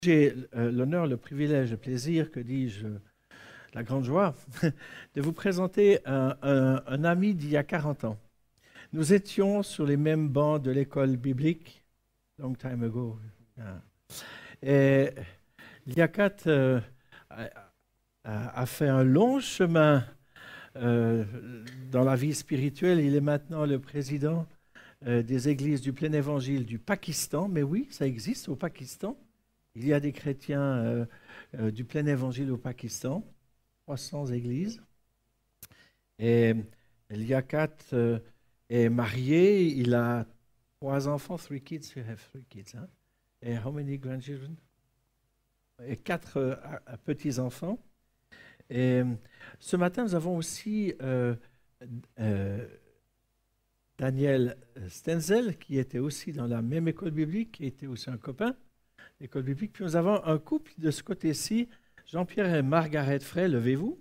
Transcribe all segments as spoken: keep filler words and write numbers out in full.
J'ai euh, l'honneur, le privilège, le plaisir, que dis-je, la grande joie, de vous présenter un, un- un ami d'il y a quarante ans. Nous étions sur les mêmes bancs de l'école biblique, long time ago. Ah. Et Liaquat euh, a, a- a fait un long chemin euh, dans la vie spirituelle. Il est maintenant le président euh, des églises du plein évangile du Pakistan. Mais oui, ça existe au Pakistan. Il y a des chrétiens euh, euh, du plein évangile au Pakistan, trois cents églises. Et Liaquat euh, est marié, il a trois enfants, three kids, you have three kids. Hein? Et how many grandchildren? Et quatre euh, petits-enfants. Et ce matin, nous avons aussi euh, euh, Daniel Stenzel, qui était aussi dans la même école biblique, qui était aussi un copain. École biblique. Puis nous avons un couple de ce côté-ci, Jean-Pierre et Margaret Frey. Levez-vous.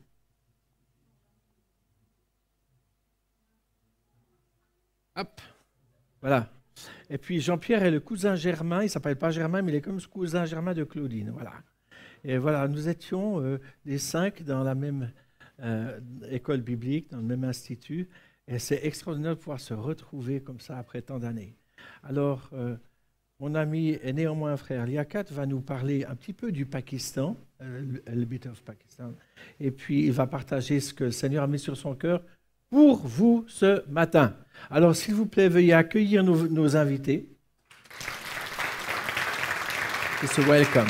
Hop. Voilà. Et puis Jean-Pierre est le cousin germain. Il ne s'appelle pas Germain, mais il est comme ce cousin germain de Claudine. Voilà. Et voilà, nous étions euh, les cinq dans la même euh, école biblique, dans le même institut. Et c'est extraordinaire de pouvoir se retrouver comme ça après tant d'années. Alors, euh, mon ami et néanmoins frère Liaquat va nous parler un petit peu du Pakistan, euh, le bit of Pakistan, et puis il va partager ce que le Seigneur a mis sur son cœur pour vous ce matin. Alors, s'il vous plaît, veuillez accueillir nos, nos invités. It's a welcome.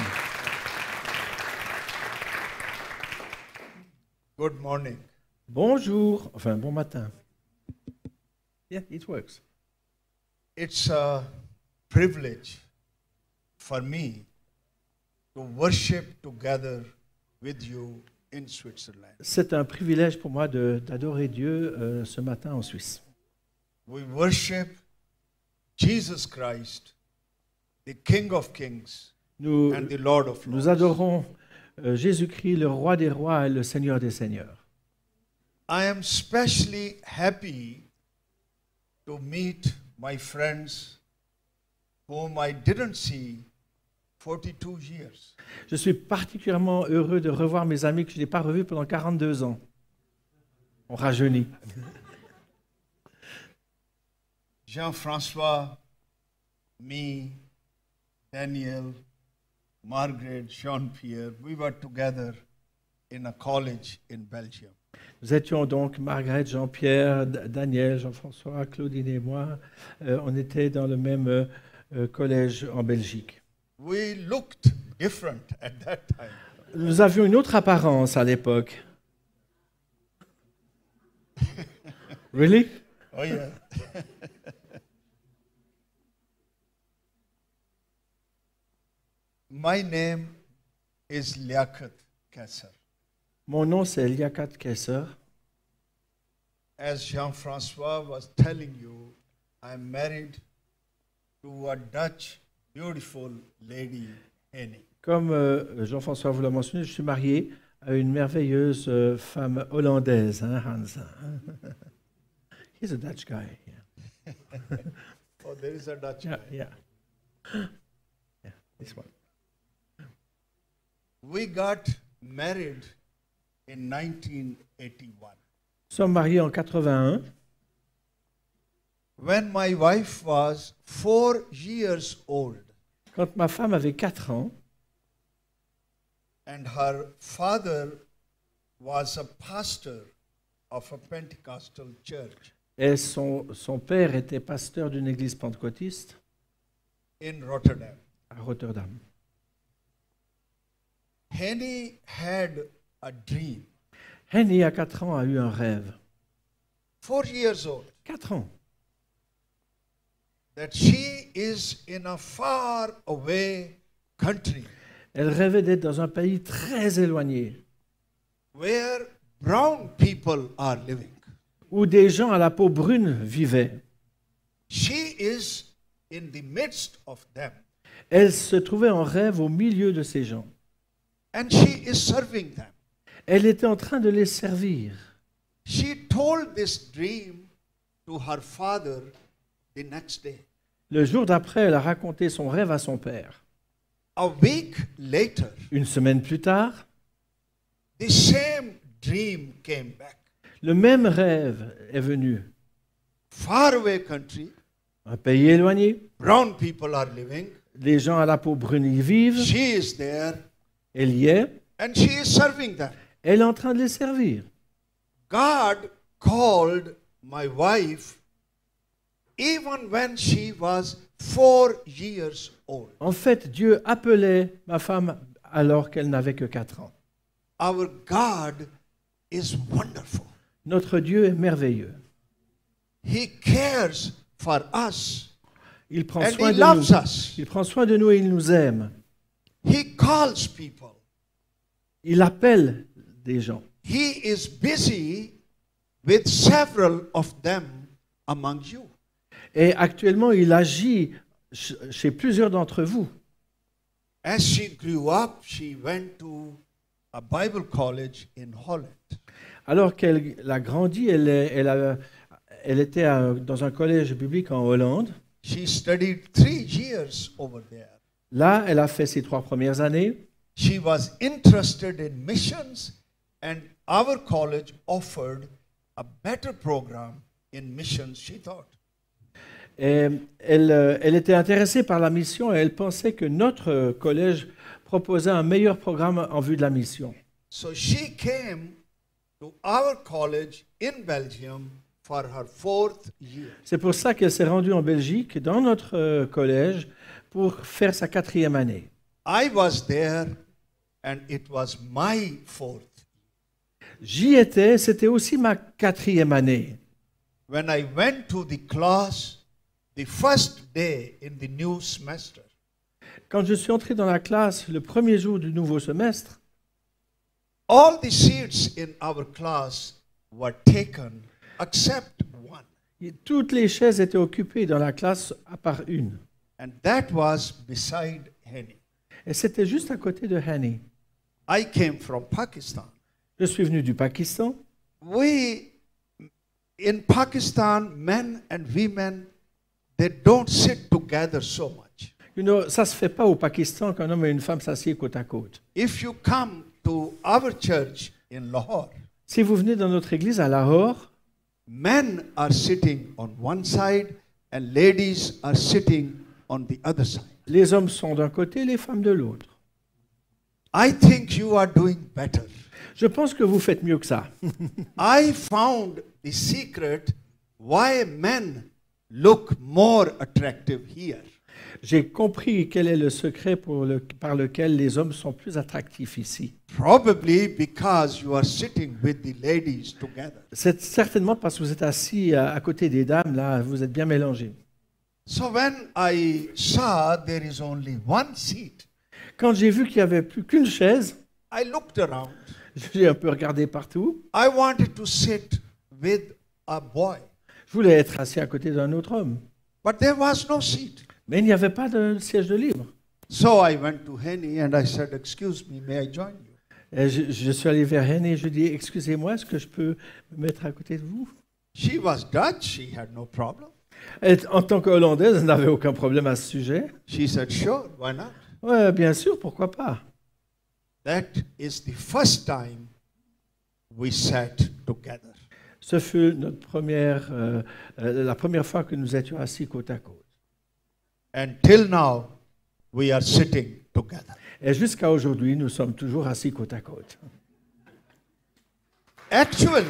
Good morning. Bonjour, enfin bon matin. Yeah, it works. It's a privilege for me to worship together with you in Switzerland. C'est un privilège pour moi de- d'adorer Dieu euh, ce matin en Suisse. We worship Jesus Christ, the King of Kings Nous, and the Lord of nous Lords. adorons euh, Jésus-Christ, le roi des rois et le Seigneur des seigneurs. I am especially happy to meet my friends whom I didn't see forty-two years. Je suis particulièrement heureux de revoir mes amis que je n'ai pas revus pendant quarante-deux ans. On rajeunit. Jean-François, me, Daniel, Margaret, Jean-Pierre, we were together in a college in Belgium. Nous étions donc Margaret, Jean-Pierre, D- Daniel, Jean-François, Claudine et moi. Euh, on était dans le même euh, euh, collège en Belgique. We looked different at that time. Nous avions une autre apparence à l'époque. Really? Oh yeah. My name is Liaquat Kasser. Mon nom, c'est Liaquat Kesser. As Jean-François was telling you, I'm married to a Dutch beautiful lady, Henny. Comme euh, Jean-François vous l'a mentionné, je suis marié à une merveilleuse euh, femme hollandaise, hein, Hans. He's a Dutch guy. Yeah, Oh, there is a Dutch yeah. guy. Yeah, yeah this one. We got married in nineteen eighty-one. Nous sommes mariés en quatre-vingt-un. When my wife was four years old Quand ma femme avait quatre ans, and her father was a pastor of a Pentecostal church et son, son père était pasteur d'une église pentecôtiste in Rotterdam. à Rotterdam. Henny had a dream. Henny, à quatre ans, a eu un rêve. Four years old. Quatre ans. That she is in a far away country Elle rêvait d'être dans un pays très éloigné, where brown people are living. où des gens à la peau brune vivaient. She is in the midst of them Elle se trouvait en rêve au milieu de ces gens. and she is serving them. Elle était en train de les servir. She told this dream to her father the next day. Le jour d'après, elle a raconté son rêve à son père. A week later, Une semaine plus tard, the same dream came back. le même rêve est venu. Faraway country, Un pays éloigné, brown people are living. les gens à la peau brune y vivent, She is there elle y est, and she is serving them. elle est en train de les servir. God called my wife even when she was four years old. En fait, Dieu appelait ma femme alors qu'elle n'avait que quatre ans. Our God is wonderful. Notre Dieu est merveilleux. He cares for us Il prend and soin He de loves nous. us. Il prend soin de nous et il nous aime. He calls people. Il appelle des gens. He is busy with several of them among you. Et actuellement, il agit ch- chez plusieurs d'entre vous. As she grew up, she went to a Bible college in Holland. Alors qu'elle a grandi, elle, est- elle, a- elle était à- dans un collège biblique en Hollande. She studied three years over there. Là, elle a fait ses trois premières années. She was interested in missions, and our college offered a better program in missions, she thought. Et elle, euh, elle était intéressée par la mission et elle pensait que notre collège proposait un meilleur programme en vue de la mission. So she came to our college in Belgium for her fourth year. C'est pour ça qu'elle s'est rendue en Belgique, dans notre euh, collège, pour faire sa quatrième année. I was there, and it was my fourth. J'y étais, c'était aussi ma quatrième année. When I went to the class, the first day in the new semester, Quand je suis entré dans la classe le premier jour du nouveau semestre, all the seats in our class were taken except one, y- toutes les chaises étaient occupées dans la classe à part une. and that was beside Henny. Et c'était juste à côté de Hani. I came from Pakistan. Je suis venu du Pakistan. We, in Pakistan, men and women, they don't sit together so much. You know, ça ne se fait pas au Pakistan qu'un homme et une femme s'assiedent côte à côte. If you come to our church in Lahore, Si vous venez dans notre église à Lahore, men are sitting on one side and ladies are sitting on the other side. les hommes sont d'un côté, les femmes de l'autre. I think you are doing better. Je pense que vous faites mieux que ça. I found the secret why men look more attractive here. J'ai compris quel est le secret pour le- par lequel les hommes sont plus attractifs ici. Probably because you are sitting with the ladies together. C'est certainement parce que vous êtes assis à, à côté des dames, là, vous êtes bien mélangés. So when I saw there is only one seat, Quand j'ai vu qu'il n'y avait plus qu'une chaise, I looked around. j'ai un peu regardé partout. I wanted to sit with a boy, Je voulais être assis à côté d'un autre homme. but there was no seat. Mais il n'y avait pas de siège de libre. So I went to Henny and I said, "Excuse me, may I join you?" Et je, je suis allé vers Henny et je lui ai dit, excusez-moi, est-ce que je peux me mettre à côté de vous? She was Dutch, she had no problem. Elle, en tant qu'Hollandaise, elle n'avait aucun problème à ce sujet. She said, "Sure, why not?" Ouais, bien sûr, pourquoi pas. That is the first time we sat together. Ce fut notre première, euh, euh, la première fois que nous étions assis côte à côte. And till now, we are sitting together. Et jusqu'à aujourd'hui, nous sommes toujours assis côte à côte. Actually,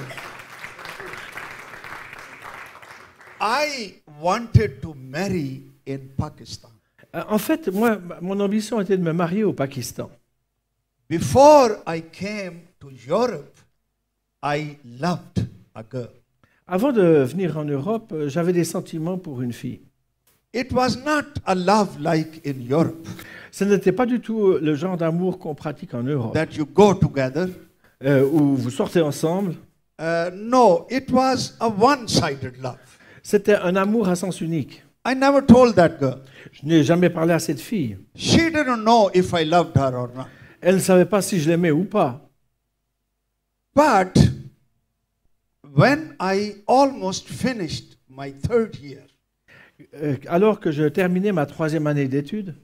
I wanted to marry in Pakistan. Euh, En fait, moi, ma- mon ambition était de me marier au Pakistan. Before I came to Europe, I loved a girl. Avant de venir en Europe, euh, j'avais des sentiments pour une fille. It was not a love like in Europe, Ce n'était pas du tout le genre d'amour qu'on pratique en Europe, that you go together. euh, où vous sortez ensemble. Uh, no, it was a one-sided love. C'était un amour à sens unique. I never told that girl. Je n'ai jamais parlé à cette fille. She didn't know if I loved her or not. Elle ne savait pas si je l'aimais ou pas. But when I almost finished my third year, Euh, Alors que je terminais ma troisième année d'études,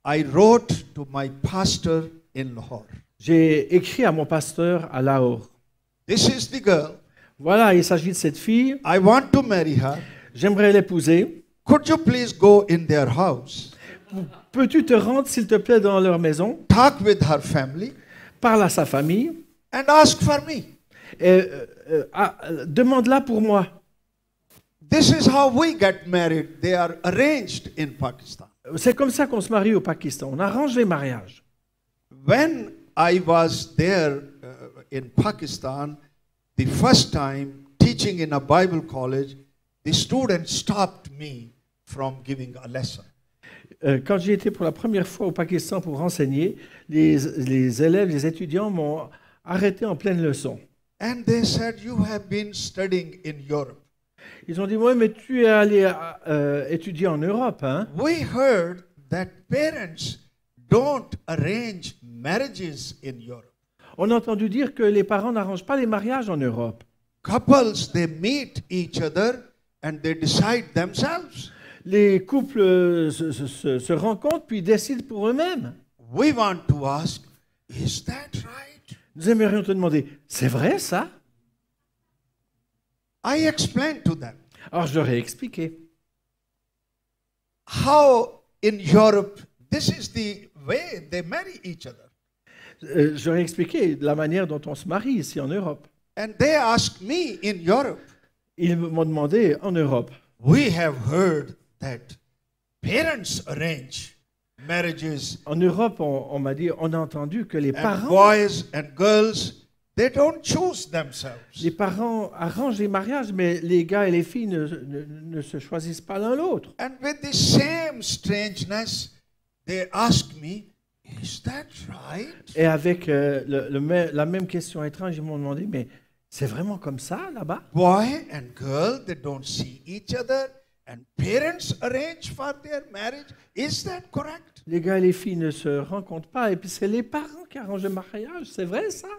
I wrote to my pastor in Lahore. J'ai écrit à mon pasteur à Lahore. This is the girl. Voilà, il s'agit de cette fille. I want to marry her. J'aimerais l'épouser. Could you please go in their house, Peux-tu te rendre, s'il te plaît, dans leur maison, talk with her family, parle à sa famille and ask for me? et euh, euh, ah, euh, demande-la pour moi. This is how we get married. They are arranged in Pakistan. C'est comme ça qu'on se marie au Pakistan. On arrange les mariages. When I was there uh, in Pakistan, the first time teaching in a Bible college, the students stopped me from giving a lesson. Euh, Quand j'ai été pour la première fois au Pakistan pour enseigner, les, les élèves, les étudiants m'ont arrêté en pleine leçon. And they said, you have been studying in Europe. Ils ont dit, oui, mais tu es allé euh, étudier en Europe, hein? We heard that parents don't arrange marriages in Europe. On a entendu dire que les parents n'arrangent pas les mariages en Europe. Couples, they meet each other and they decide themselves. Les couples euh, se, se- se rencontrent puis décident pour eux-mêmes. We want to ask, is that right? Nous aimerions te demander, c'est vrai ça? I explained to them Alors je leur ai expliqué. how in Europe, this is the way they marry each other. Euh, je leur ai expliqué la manière dont on se marie ici en Europe. And they asked me in Europe, Ils m'ont demandé en Europe. we have heard that parents arrange marriages En Europe, on, on m'a dit, on a entendu que les and parents, boys and girls, they don't choose themselves. les parents arrangent les mariages, mais les gars et les filles ne, ne- ne se choisissent pas l'un l'autre. And with the same strangeness, they ask me, is that right? Et avec euh, le- le mê- la même question étrange, ils m'ont demandé, mais c'est vraiment comme ça là-bas? Boy and girl, they don't see each other, and parents arrange for their marriage. Is that correct? Les gars et les filles ne se rencontrent pas, et puis c'est les parents qui arrangent le mariage, c'est vrai ça?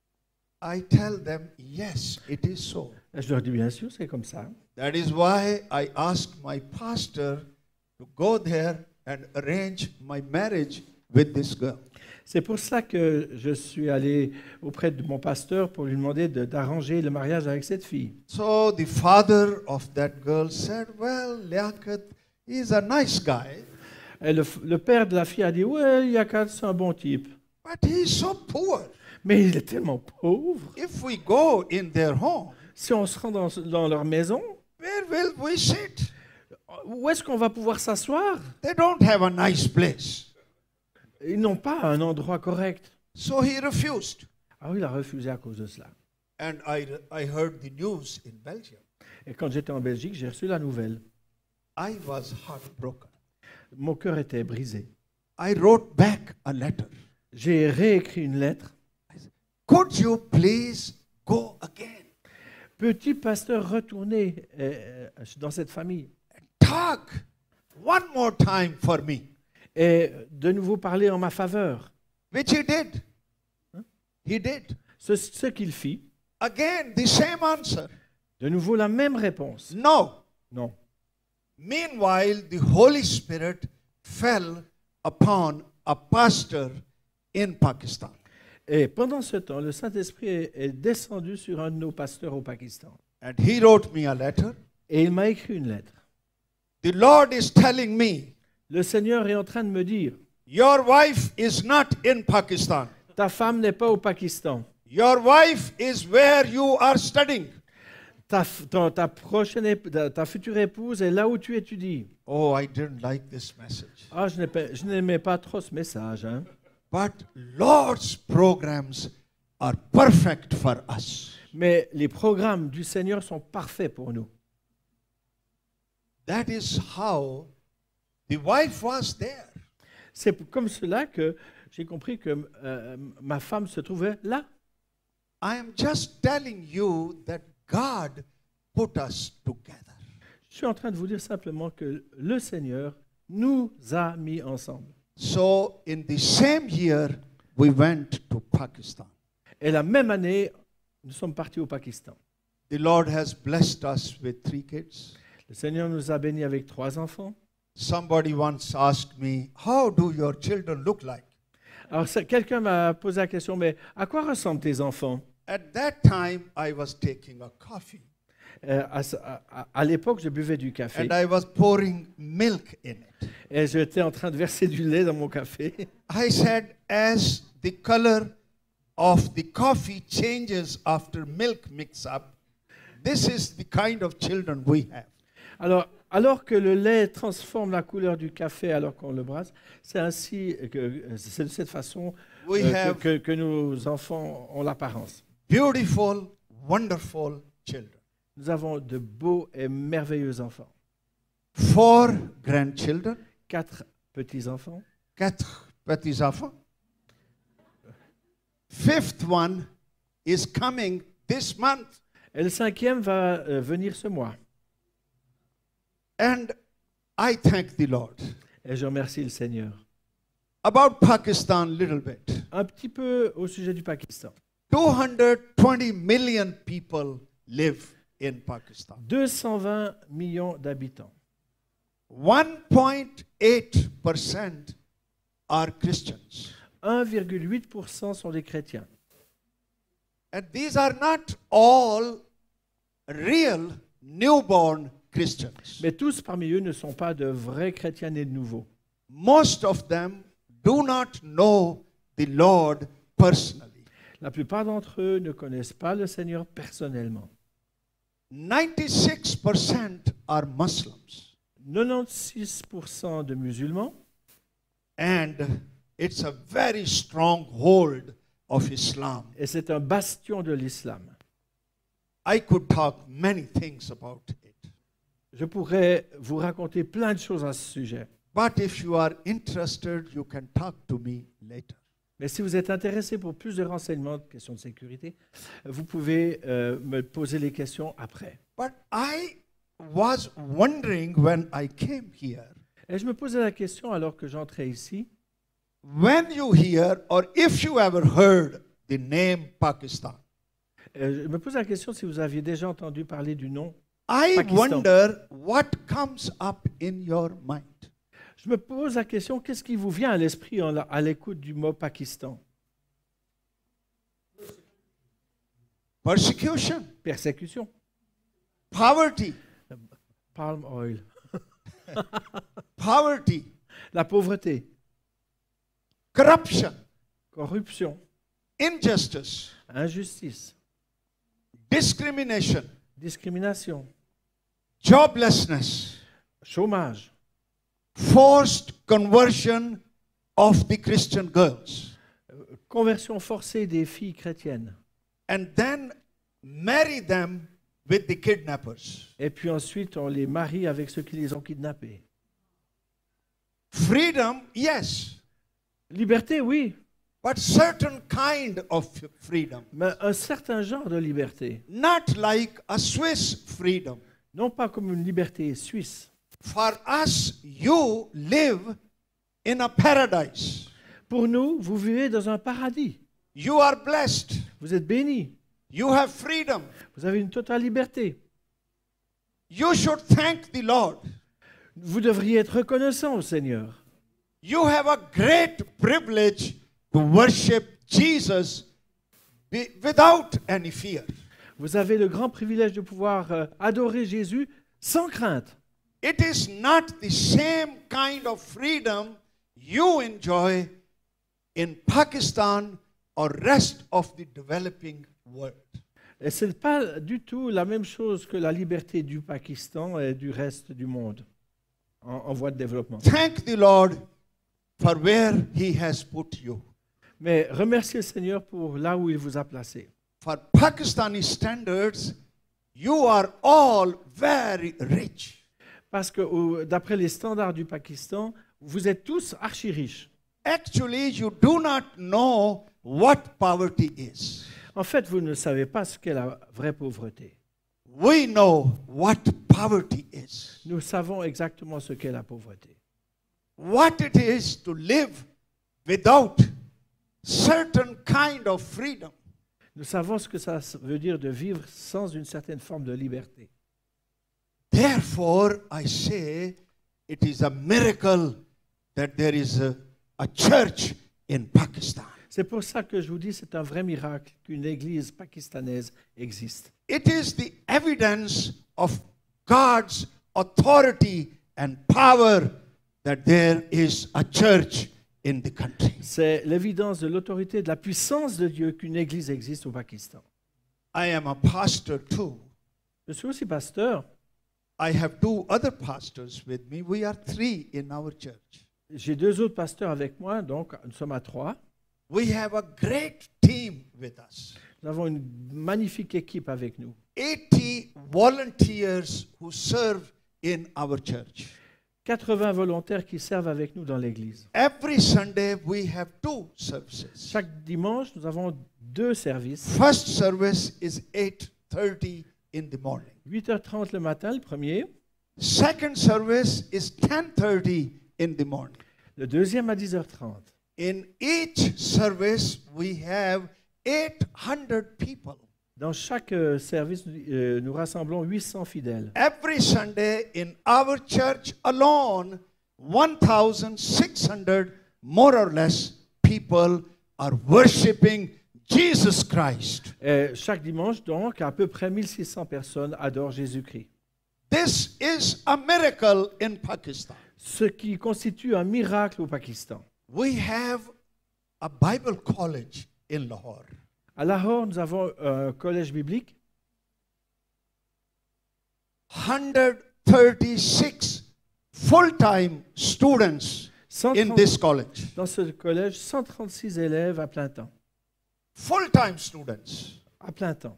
I tell them, yes, it is so. Et je leur dis, bien sûr, c'est comme ça. That is why I asked my pastor to go there and arrange my marriage with this girl. C'est pour ça que je suis allé auprès de mon pasteur pour lui demander de- d'arranger le mariage avec cette fille. So the father of that girl said, well, Liaquat is a nice guy, Et le, f- le père de la fille a dit, ouais, Yakat, c'est un bon type. but he's so poor. Mais il est tellement pauvre. If we go in their home, Si on se rend dans, dans leur maison, where will we sit? où est-ce qu'on va pouvoir s'asseoir? They don't have a nice place. Ils n'ont pas un endroit correct. So he refused. Ah oui, il a refusé à cause de cela. And I, I heard the news in Belgium. Et quand j'étais en Belgique, j'ai reçu la nouvelle. I was heartbroken. Mon cœur était brisé. I wrote back a letter. J'ai réécrit une lettre. Could you please go again? Petit pasteur, retournez euh, euh, dans cette famille Talk one more time for me. et de nouveau parler en ma faveur. Which he did. He did. Ce, ce qu'il fit, Again, the same answer. de nouveau la même réponse. No. Non. Meanwhile, the Holy Spirit fell upon a pastor in Pakistan. Et pendant ce temps, le Saint-Esprit est, est descendu sur un de nos pasteurs au Pakistan. And he wrote me a letter. Et il m'a écrit une lettre. The Lord is telling me, Le Seigneur est en train de me dire, your wife is not in Pakistan. ta femme n'est pas au Pakistan. Your wife is where you are studying. Ta, f- ton- ta prochaine, ép- ta, ta future épouse est là où tu étudies. Oh, I didn't like this message. Ah, je n'ai pas- je n'aimais pas trop ce message. Hein. But Lord's programs are perfect for us. Mais les programmes du Seigneur sont parfaits pour nous. That is how the wife was there. C'est p- comme cela que j'ai compris que euh, ma femme se trouvait là. I am just telling you that God put us together. Je suis en train de vous dire simplement que le Seigneur nous a mis ensemble. So in the same year, we went to Pakistan. Et la même année, nous sommes partis au Pakistan. The Lord has blessed us with three kids. Le Seigneur nous a bénis avec trois enfants. Somebody once asked me, how do your children look like? Alors, ça- quelqu'un m'a posé la question, mais à quoi ressemblent tes enfants? At that time, I was taking a coffee Euh, à, ce- à- à- à l'époque, je buvais du café and I was pouring milk in it. et j'étais en train de verser du lait dans mon café. I said, as the color of the coffee changes after milk mix up, this is the kind of children we have. Alors, alors que le lait transforme la couleur du café alors qu'on le brasse, c'est ainsi que c'est de cette façon We euh, have que, que- que nos enfants ont l'apparence. beautiful, wonderful children. Nous avons de beaux et merveilleux enfants. Four grandchildren, Quatre petits-enfants. quatre petits-enfants. Fifth one is coming this month. Et le cinquième va euh, venir ce mois. And I thank the Lord. Et je remercie le Seigneur. About Pakistan, little bit. Un petit peu au sujet du Pakistan. two hundred twenty million people live in Pakistan. deux cent vingt millions d'habitants. one point eight percent are Christians. un virgule huit pour cent sont des chrétiens. And these are not all real newborn Christians. Mais tous parmi eux ne sont pas de vrais chrétiens nés de nouveau. Most of them do not know the Lord personally. La plupart d'entre eux ne connaissent pas le Seigneur personnellement. ninety-six percent are Muslims. quatre-vingt-seize pour cent de musulmans, And it's a very strong hold of Islam. et c'est un bastion de l'islam. I could talk many things about it. Je pourrais vous raconter plein de choses à ce sujet. But if you are interested, you can talk to me later. Mais si vous êtes intéressé pour plus de renseignements, de questions de sécurité, vous pouvez euh, me poser les questions après. But I was wondering when I came here, Et je me posais la question alors que j'entrais ici, when you hear or if you ever heard the name Pakistan, euh, je me posais la question si vous aviez déjà entendu parler du nom. I Pakistan. wonder what comes up in your mind. Je me pose la question, qu'est-ce qui vous vient à l'esprit en- à l'écoute du mot Pakistan? Persecution, Persécution, poverty, palm oil, poverty, la pauvreté, corruption, corruption, injustice, injustice, discrimination, discrimination, joblessness, chômage, forced conversion of the Christian girls, conversion forcée des filles chrétiennes, and then marry them with the kidnappers. et puis ensuite on les marie avec ceux qui les ont kidnappés. Freedom, yes, Liberté, oui, but certain kind of freedom, mais un certain genre de liberté, not like a Swiss freedom. non pas comme une liberté suisse. For us, you live in a paradise. Pour nous, vous vivez dans un paradis. You are blessed. Vous êtes bénis. You have freedom. Vous avez une totale liberté. You should thank the Lord. Vous devriez être reconnaissant au Seigneur. You have a great privilege to worship Jesus be- without any fear. Vous avez le grand privilège de pouvoir euh, adorer Jésus sans crainte. It is not the same kind of freedom you enjoy in Pakistan or rest of the developing world. Et ce n'est pas du tout la même chose que la liberté du Pakistan et du reste du monde en, en voie de développement. Thank the Lord for where He has put you. Mais remerciez le Seigneur pour là où il vous a placé. For Pakistani standards, you are all very rich. Parce que au- d'après les standards du Pakistan, vous êtes tous archi riches. Actually, you do not know what poverty is. En fait, vous ne savez pas ce qu'est la vraie pauvreté. We know what poverty is. Nous savons exactement ce qu'est la pauvreté. What it is to live without certain kind of freedom. Nous savons ce que ça veut dire de vivre sans une certaine forme de liberté. Therefore, I say, it is a miracle that there is a, a church in Pakistan. C'est pour ça que je vous dis, c'est un vrai miracle qu'une église pakistanaise existe. It is the evidence of God's authority and power that there is a church in the country. C'est l'évidence de l'autorité et de la puissance de Dieu qu'une église existe au Pakistan. I am a pastor too. Je suis aussi pasteur. I have two other pastors with me. We are three in our church. J'ai deux autres pasteurs avec moi, donc nous sommes à trois. We have a great team with us. Nous avons une magnifique équipe avec nous. eighty volunteers who serve in our church. quatre-vingts volontaires qui servent avec nous dans l'église. Every Sunday we have two services. Chaque dimanche, nous avons deux services. First service is eight thirty in the morning. huit heures trente le matin, le premier. Second service is ten thirty in the morning. Le deuxième à dix heures trente. In each service we have eight hundred people. Dans chaque euh, service, euh, nous rassemblons huit cents fidèles. Every Sunday in our church alone, one thousand six hundred more or less people are worshiping Jesus Christ. Et chaque dimanche, donc, à peu près mille six cents personnes adorent Jésus-Christ. This is a miracle in Pakistan. Ce qui constitue un miracle au Pakistan. We have a Bible college in Lahore. À Lahore, nous avons un collège biblique. one hundred thirty-six full-time students in this college. Dans ce collège, cent trente-six élèves à plein temps. Full-time students. À plein temps.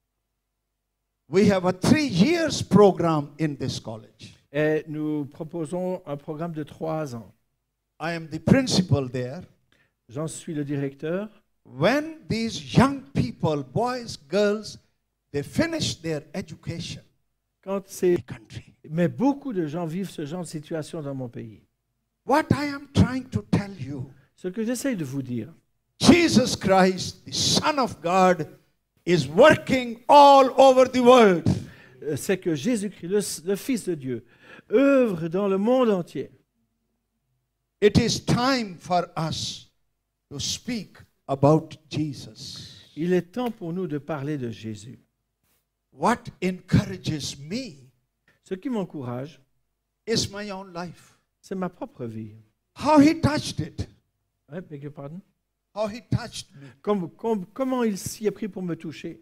We have a three years program in this college. Et nous proposons un programme de trois ans. I am the principal there. J'en suis le directeur. When these young people, boys, girls, they finish their education, Quand c'est... country. Mais beaucoup de gens vivent ce genre de situation dans mon pays. What I am trying to tell you, Ce que j'essaye de vous dire, Jesus Christ, the Son of God, is working all over the world. euh, c'est que Jésus-Christ, le, le Fils de Dieu, œuvre dans le monde entier. It is time for us to speak about Jesus. Il est temps pour nous de parler de Jésus. What encourages me Ce qui m'encourage, is my own life. c'est ma propre vie. How he touched it. Ouais, beg your pardon? How he touched me. Comme- comme- comment il s'y est pris pour me toucher?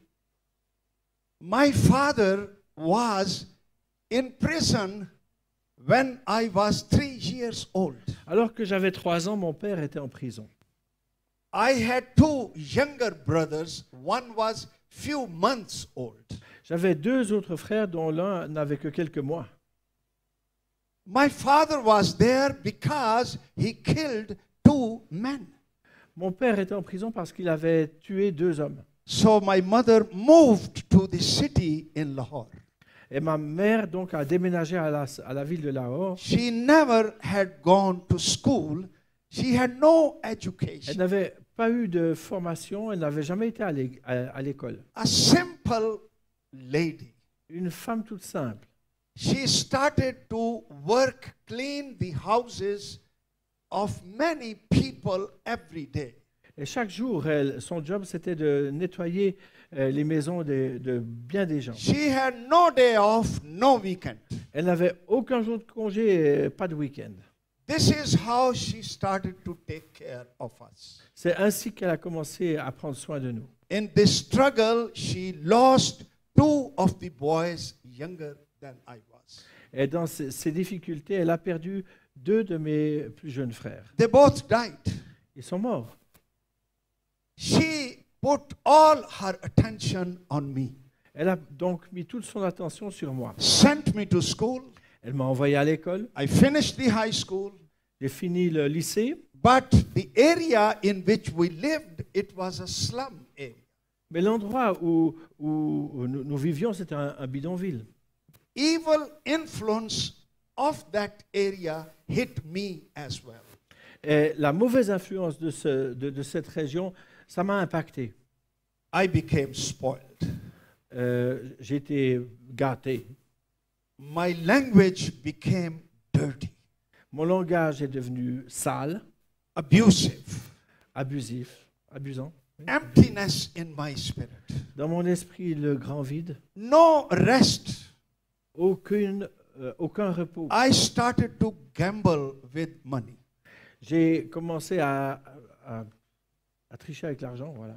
My father was in prison when I was three years old. Alors que j'avais trois ans, mon père était en prison. I had two younger brothers. One was few months old. J'avais deux autres frères dont l'un n'avait que quelques mois. My father was there because he killed two men. Mon père était en prison parce qu'il avait tué deux hommes. So my mother moved to the city in Lahore. Et ma mère donc a déménagé à la, à la ville de Lahore. She never had gone to school. She had no Elle education. n'avait pas eu de formation, elle n'avait jamais été à l'é- à- à l'école. A simple lady. Une femme toute simple. She started to work, clean the houses of many people every day. Et chaque jour, elle, son job, c'était de nettoyer euh, les maisons de, de bien des gens. She had no day off, no weekend. Elle n'avait aucun jour de congé, et pas de week-end. This is how she started to take care of us. C'est ainsi qu'elle a commencé à prendre soin de nous. In this struggle, she lost two of the boys younger than I was. Et dans ces, ces difficultés, elle a perdu deux de mes plus jeunes frères. They both died. Ils sont morts. She put all her attention on me, Elle a donc mis toute son attention sur moi. sent me to school. Elle m'a envoyé à l'école. I finished the high school. J'ai fini le lycée. But the area in which we lived, it was a slum area. Mais l'endroit où, où- où nous, nous vivions, c'était un, un bidonville. Evil influence of that area hit me as well. Et la mauvaise influence de, ce- de- de cette région, ça m'a impacté. I became spoiled. Euh, j'ai été gâté. My language became dirty. Mon langage est devenu sale, abusive, abusif, abusant. Oui. emptiness in my spirit, Dans mon esprit, le grand vide, no rest. aucune, euh, aucun repos. I started to gamble with money. J'ai commencé à, à, à tricher avec l'argent, voilà.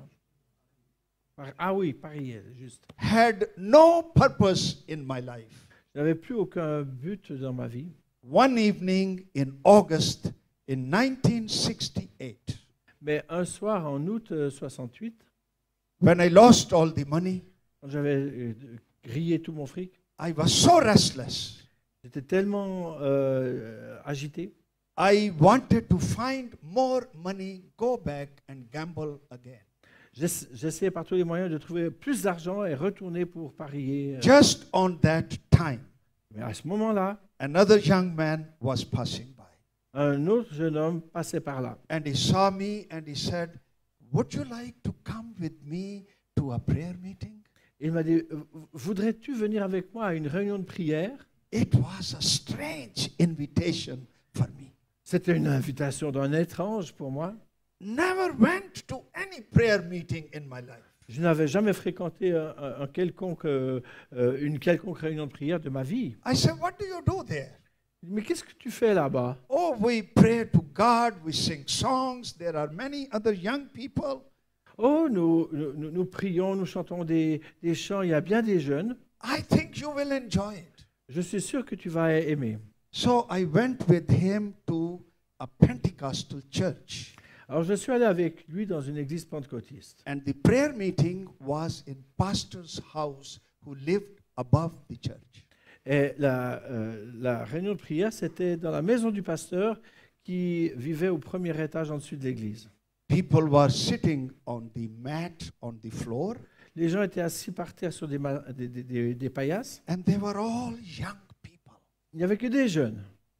Par- Ah oui, parier, juste. Had no purpose in my life. Je n'avais plus aucun but dans ma vie. One evening in August in nineteen sixty-eight, Mais un soir, en août euh, soixante-huit, when I lost all the money, quand j'avais euh, grillé tout mon fric, I was so restless. j'étais tellement euh, agité. I wanted to find more money, go back and gamble again. J'ess- J'essayais par tous les moyens de trouver plus d'argent et retourner pour parier. euh. Just on that time, Mais à ce moment-là, another young man was passing by. un autre jeune homme passait par là. And he saw me and he said, "Would you like to come with me to a prayer meeting?" Il m'a dit, euh, voudrais-tu venir avec moi à une réunion de prière? It was a strange invitation for me. C'était une invitation d'un étrange pour moi. Never went to any prayer meeting in my life. Je n'avais jamais fréquenté un, un- un quelconque, euh, euh, une quelconque réunion de prière de ma vie. I said, "What do you do there?" Mais qu'est-ce que tu fais là-bas? Oh, we pray to God, we sing songs. There are many other young people. Oh, nous, nous, nous prions, nous chantons des, des chants, il y a bien des jeunes. I think you will enjoy it. Je suis sûr que tu vas aimer. So I went with him to a Pentecostal church. Alors je suis allé avec lui dans une église pentecôtiste. And the prayer meeting was in pastor's house who lived above the church. Et la, euh, la réunion de prière, c'était dans la maison du pasteur qui vivait au premier étage en dessus de l'église. People were sitting on the mat on the floor, Les gens étaient assis par terre sur des, ma- des, des- des- des paillasses. and they were all young people. Il n'y avait que des jeunes.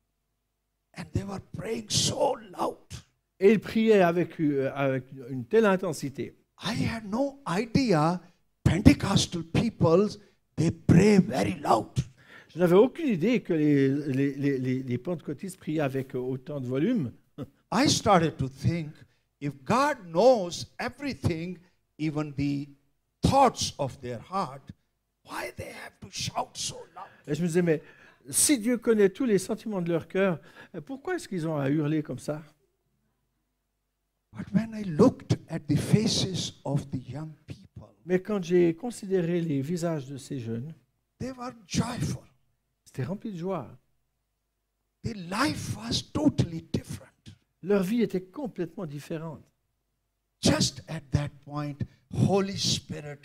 And they were praying so loud. Et ils priaient avec, euh, avec une telle intensité. I had no idea Pentecostal people, they pray very loud. Je n'avais aucune idée que les, les, les, les- les pentecôtistes priaient avec autant de volume. I started to think, if God knows everything, even the thoughts of their heart, why they have to shout so loud? Et je me disais, mais si Dieu connaît tous les sentiments de leur cœur, euh, pourquoi est-ce qu'ils ont à hurler comme ça? But when I looked at the faces of the young people, Mais quand j'ai considéré les visages de ces jeunes, they were joyful. c'était rempli de joie. Their life was totally different. Leur vie était complètement différente. Just at that point, Holy Spirit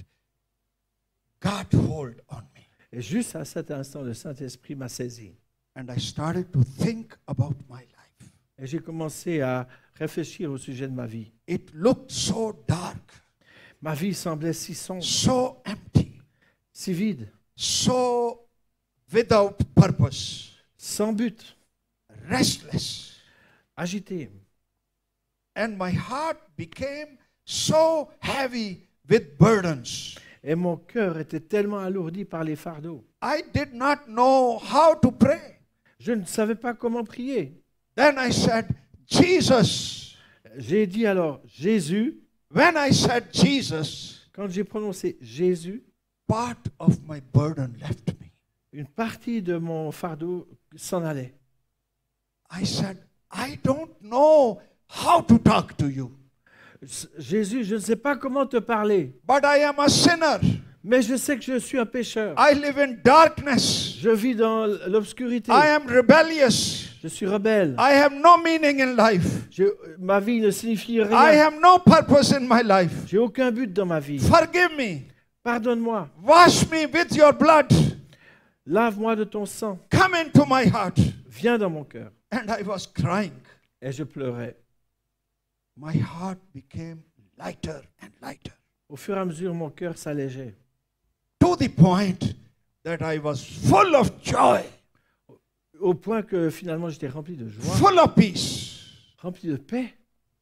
got hold on me. Et juste à cet instant, le Saint-Esprit m'a saisi. And I started to think about my life. Et j'ai commencé à réfléchir au sujet de ma vie. It looked so dark, Ma vie semblait si sombre, so empty, si vide, so without purpose, sans but, restless. agitée. And my heart became so heavy with burdens. Et mon cœur était tellement alourdi par les fardeaux. I did not know how to pray. Je ne savais pas comment prier. Then I said, Jesus. J'ai dit alors Jésus. When I said Jesus, Quand j'ai prononcé Jésus, part of my burden left me. une partie de mon fardeau s'en allait. I said, I don't know how to talk to you, S- Jésus, je ne sais pas comment te parler, but I am a sinner. mais je sais que je suis un pécheur. I live in darkness. Je vis dans l'obscurité. I am rebellious. Je suis rebelle. I have no meaning in life. Je- ma vie ne signifie I rien. have no purpose in my life. J'ai aucun but dans ma vie. Forgive me. Pardonne-moi. Wash me with your blood. Lave-moi de ton sang. Come into my heart. Viens dans mon cœur. And I was crying. Et je pleurais. My heart became lighter and lighter, Au fur et à mesure, mon cœur s'allégeait. to the point that I was full of joy, Au point que finalement, j'étais rempli de joie, full of peace. rempli de paix.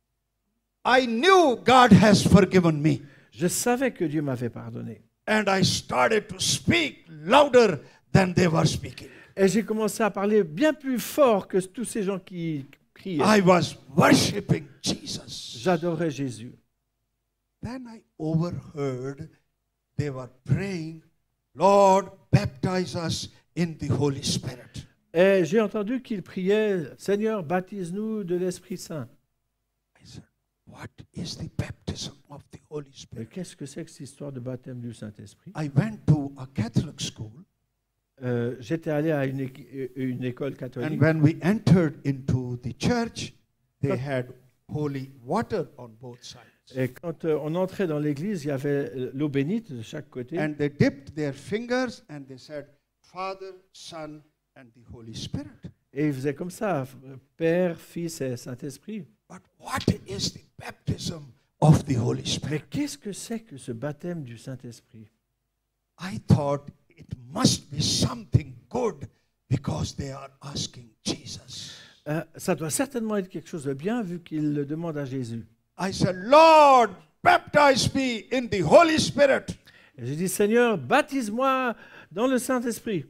I knew God has forgiven me. Je savais que Dieu m'avait pardonné. And I started to speak louder than they were speaking. Et j'ai commencé à parler bien plus fort que tous ces gens qui criaient. I was worshiping Jesus. J'adorais Jésus. Then I overheard they were praying, Lord, baptize us in the Holy Spirit. Et j'ai entendu qu'ils priaient, Seigneur, baptise-nous de l'Esprit Saint. I said, what is the baptism of the Holy Et Spirit? qu'est-ce que c'est que cette histoire de baptême du Saint-Esprit? I went to a Catholic school, Euh, J'étais allé à une, é- une école and catholique. when we entered into the church, they had holy water on both sides. Et quand euh, on entrait dans l'église, il y avait euh, l'eau bénite de chaque côté. And they dipped their fingers and they said, Father, Son, and the Holy Spirit. Et ils faisaient comme ça, Père, Fils et Saint-Esprit. But what is the baptism of the Holy Mais Spirit? qu'est-ce que c'est que ce baptême du Saint-Esprit? I thought it must be something good because they are asking Jesus. Euh, ça doit certainement être quelque chose de bien vu qu'il le demande à Jésus. I said, Lord, baptize me in the Holy Spirit. Et j'ai dit, Seigneur, baptise-moi dans le Saint-Esprit.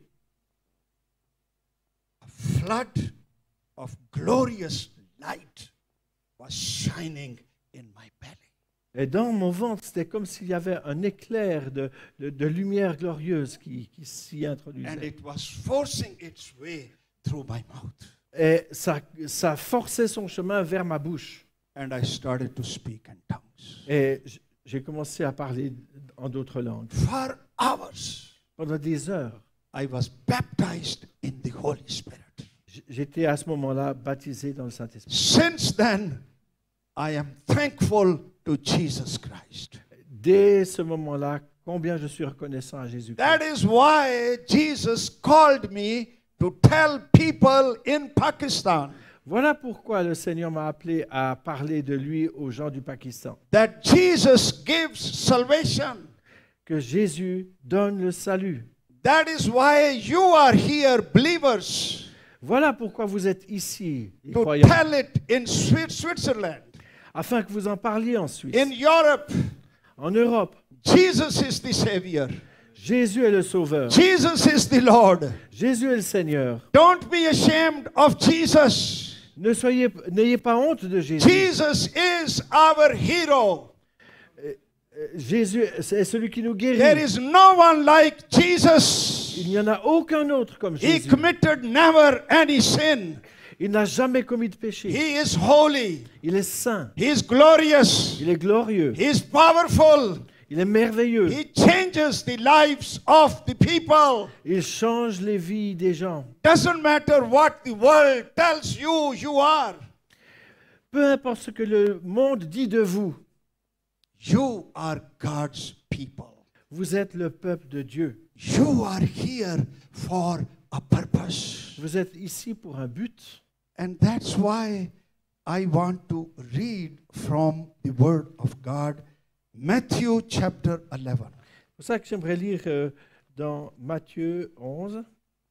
A flood of glorious light was shining in my belly. Et dans mon ventre, c'était comme s'il y avait un éclair de, de, de lumière glorieuse qui, qui s'y And introduisait. it was forcing its way through my mouth. Et ça, ça forçait son chemin vers ma bouche. And I started to speak in tongues. Et j- j'ai commencé à parler en d'autres langues. For hours, Pendant des heures, I was baptized in the Holy Spirit. j- j'étais à ce moment-là baptisé dans le Saint-Esprit. Since then, I am thankful to Jesus Christ. Dès ce moment-là, combien je suis reconnaissant à Jésus-Christ. That is why Jesus called me to tell people in Pakistan Voilà pourquoi le Seigneur m'a appelé à parler de lui aux gens du Pakistan. that Jesus gives salvation. Que Jésus donne le salut. That is why you are here, believers, Voilà pourquoi vous êtes ici, les to croyants, tell it in Swi- Switzerland, afin que vous en parliez en Suisse, in Europe. en Europe. Jesus is the Savior. Jésus est le Sauveur. Jesus is the Lord. Jésus est le Seigneur. Don't be ashamed of Jesus. Ne soyez, n'ayez pas honte de Jésus. Jesus is our hero. Euh, Jésus est celui qui nous There guérit. is no one like Jesus. Il n'y en a aucun autre comme He Jésus. committed never any sin. Il n'a jamais commis de péché. He is holy. Il est saint. He is glorious. Il est glorieux. He is powerful. Il est merveilleux. He changes the lives of the people. Il change les vies des gens. Doesn't matter what the world tells you you are. Peu importe ce que le monde dit de vous, You are God's people. vous êtes le peuple de Dieu. You are here for a purpose. Vous êtes ici pour un but. And that's why I want to read from the Word of God, Matthew chapter eleven. C'est pour ça que j'aimerais lire euh, dans Matthieu onze,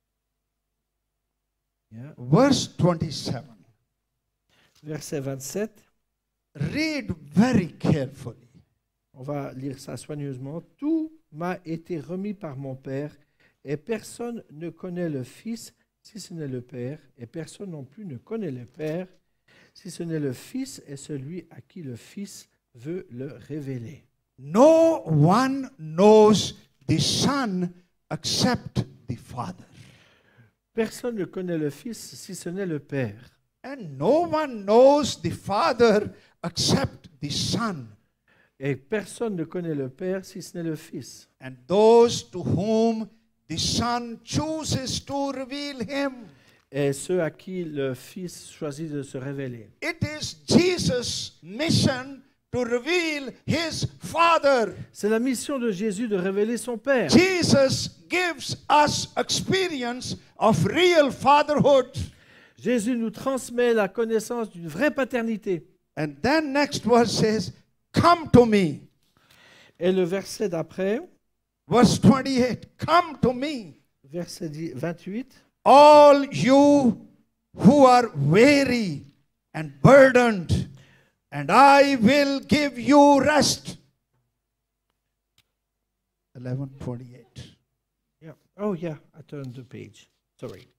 yeah, Verse twenty-seven. verset vingt-sept. Read very carefully. On va lire ça soigneusement. Tout m'a été remis par mon Père, et personne ne connaît le Fils si ce n'est le Père, et personne non plus ne connaît le Père si ce n'est le Fils et celui à qui le Fils veut le révéler. No one knows the Son except the Father. Personne ne connaît le Fils si ce n'est le Père. And no one knows the Father except the Son. Et personne ne connaît le Père si ce n'est le Fils. And those to whom the Son chooses to reveal him. Et ceux à qui le Fils choisit de se révéler. It is Jesus' mission to reveal his Father. C'est la mission de Jésus de révéler son Père. Jesus gives us experience of real fatherhood. Jésus nous transmet la connaissance d'une vraie paternité. And then next verse says, come to me. Et le verset d'après, Verse twenty-eight, come to me, verset vingt-huit, all you who are weary and burdened, and I will give you rest. eleven twenty-eight. yeah. Oh yeah, I turned the page. Sorry.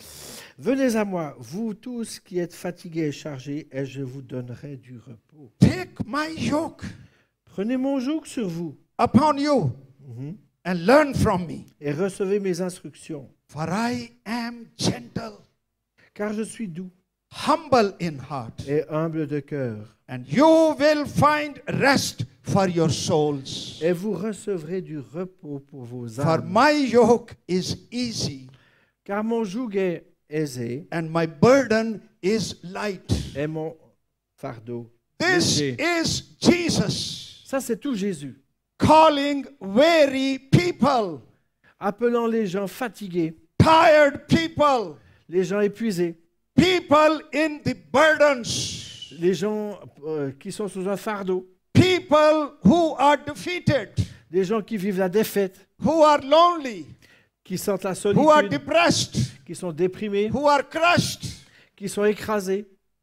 Venez à moi, vous tous qui êtes fatigués et chargés, et je vous donnerai du repos. Take my yoke Prenez mon joug sur vous upon you mhm, and learn from me. et recevez mes instructions, For I am gentle, car je suis doux humble in heart, et humble de cœur, and you will find rest for your souls. et vous recevrez du repos pour vos For âmes. my yoke is easy Car mon joug est aisé and my burden is light. et mon fardeau This léger. is Jesus Ça, c'est tout Jésus, calling weary people, appelant les gens fatigués, tired people, les gens épuisés, people in the burdens, les gens euh, qui sont sous un fardeau, people who are defeated, les gens qui vivent la défaite, who are lonely, qui sentent la who are solitude, depressed, qui sont déprimés, who are crushed. qui sont écrasés.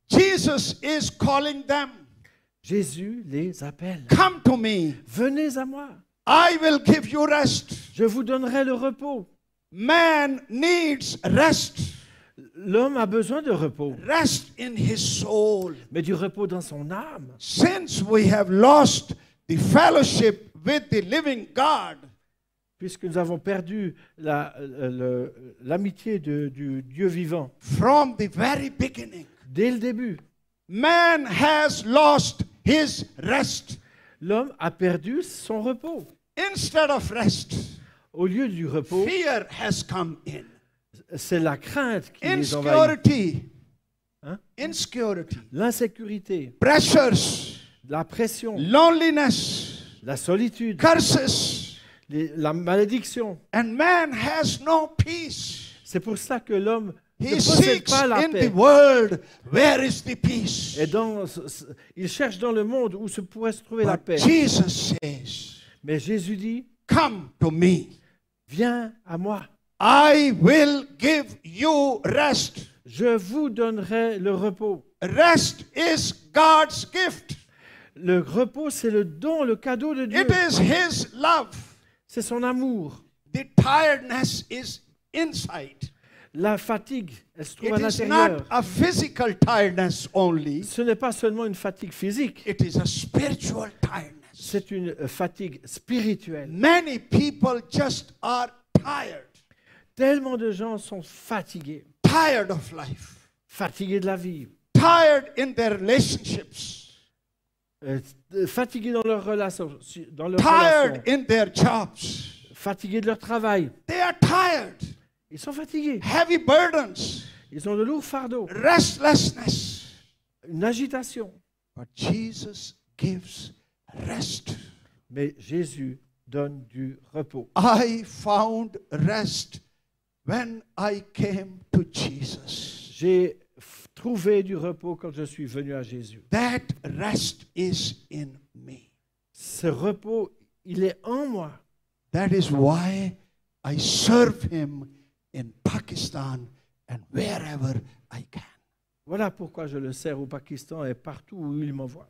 Jesus is calling them. Jésus les appelle. Come to me. Venez à moi, I will give you rest. je vous donnerai le repos. Man needs rest. L'homme a besoin de repos, Rest in his soul. mais du repos dans son âme. Since we have lost the fellowship with the living God, Puisque nous avons perdu la- euh, le- l'amitié de- du Dieu vivant from the very beginning, dès le début, man has lost his rest. l'homme a perdu son repos. Instead of rest, Au lieu du repos, fear has come in. c'est la crainte qui les envahit. Insecurity, Hein? insecurity, L'insécurité, pressures, la pression, loneliness, la solitude, curses, les- la malédiction. and man has no peace. C'est pour ça que l'homme ne He possède seeks pas la in paix. the world, where is the peace? Et dans, ce- ce- il cherche dans le monde où se pourrait se trouver la But paix. Jesus says, Mais Jésus dit, come to me. viens à moi. I will give you rest. Je vous donnerai le repos. Rest is God's gift. Le repos, c'est le don, le cadeau de Dieu. It is His love. C'est son amour. The tiredness is inside. La fatigue, elle se trouve It à is l'intérieur. not a physical tiredness only. Ce n'est pas seulement une fatigue physique, It is a spiritual tiredness. c'est une euh, fatigue spirituelle. Many people just are tired. Tellement de gens sont fatigués, Tired of life. fatigués de la vie, Tired in their relationships. euh, euh, fatigués dans leurs relations, dans leurs Tired relations, in their jobs. fatigués de leur travail. They are tired. Ils sont fatigués. Heavy burdens. Ils ont de lourds fardeaux, Restlessness. une agitation. But Jesus gives rest. Mais Jésus donne du repos. I found rest when I came to Jesus. J'ai f- trouvé du repos quand je suis venu à Jésus. That rest is in me. Ce repos, il est en moi. That is why I serve Him in Pakistan and wherever I can. Voilà pourquoi je le sers au Pakistan et partout où il m'envoie.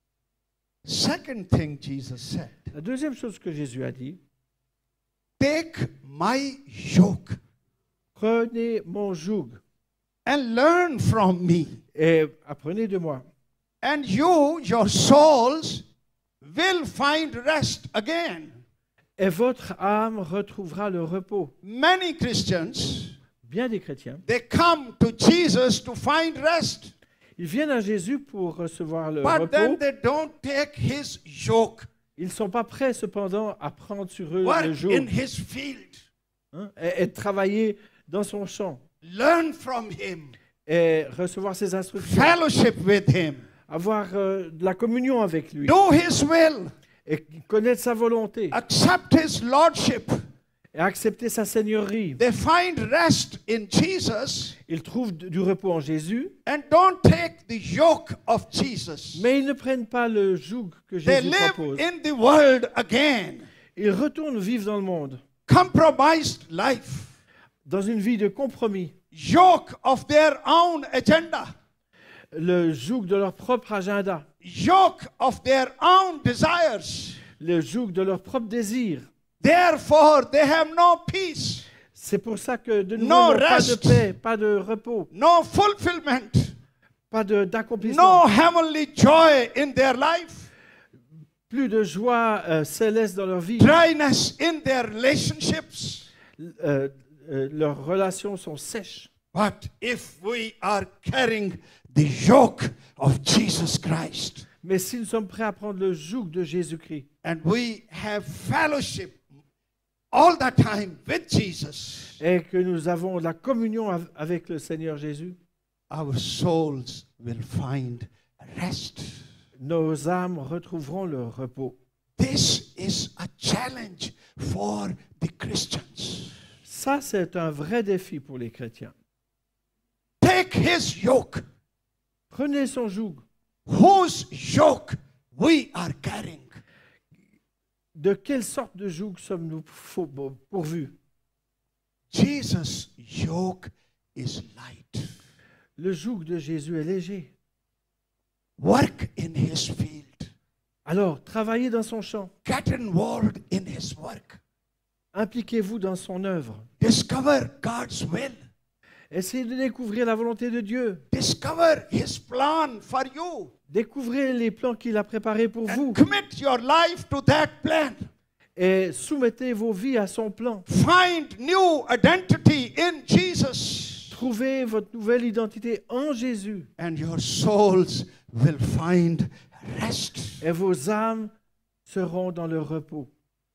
Second thing Jesus said, La deuxième chose que Jésus a dit, take my yoke prenez mon joug and learn from me, et apprenez de moi. and you, your souls, will find rest again. Et votre âme retrouvera le repos. Many Christians, Bien des chrétiens, they come to Jesus to find rest, ils viennent à Jésus pour recevoir le but then repos. they don't take His yoke, Ils ne sont pas prêts cependant à prendre sur eux le work joug in His field, hein, et, et travailler dans son champ learn from Him, et recevoir ses instructions, fellowship with Him, avoir euh, de la communion avec lui do His will, et connaître sa volonté accept His lordship. et accepter sa seigneurie. They find rest in Jesus Ils trouvent du du repos en Jésus, and don't take the yoke of Jesus. mais ils ne prennent pas le joug que They Jésus live propose. in the world again, Ils retournent vivre dans le monde, compromised life, dans une vie de compromis, yoke of their own agenda, le joug de leur propre agenda, yoke of their own desires. le joug de leur propre désir. Therefore, they have no peace. C'est pour ça que de nouveau, No non, pas de rest. paix, pas de repos, no fulfillment, pas de- d'accomplissement, no heavenly joy in their life, plus de joie euh, céleste dans leur vie. dryness in their relationships. Euh, euh, leurs relations sont sèches. But if we are carrying the yoke of Jesus Christ Mais si nous sommes prêts à prendre le joug de Jésus-Christ and we have fellowship all the time with Jesus, et que nous avons la communion av- avec le Seigneur Jésus, our souls will find rest. nos âmes retrouveront le repos. This is a challenge for the Christians. Ça, c'est un vrai défi pour les chrétiens. Take his yoke, Prenez son joug. whose yoke we are carrying. De quelle sorte de joug sommes-nous faux- pourvus? Jesus' yoke is light. Le joug de Jésus est léger. Work in his field. Alors, travaillez dans son champ. Get involved in his work. Impliquez-vous dans son œuvre. Discover God's will. Essayez de découvrir la volonté de Dieu. Discover his plan for you. Découvrez les plans qu'il a préparés pour vous And commit your life to that plan. et soumettez vos vies à son plan. Find new identity in Jesus. Trouvez votre nouvelle identité en Jésus And your souls will find rest. et vos âmes seront dans le repos.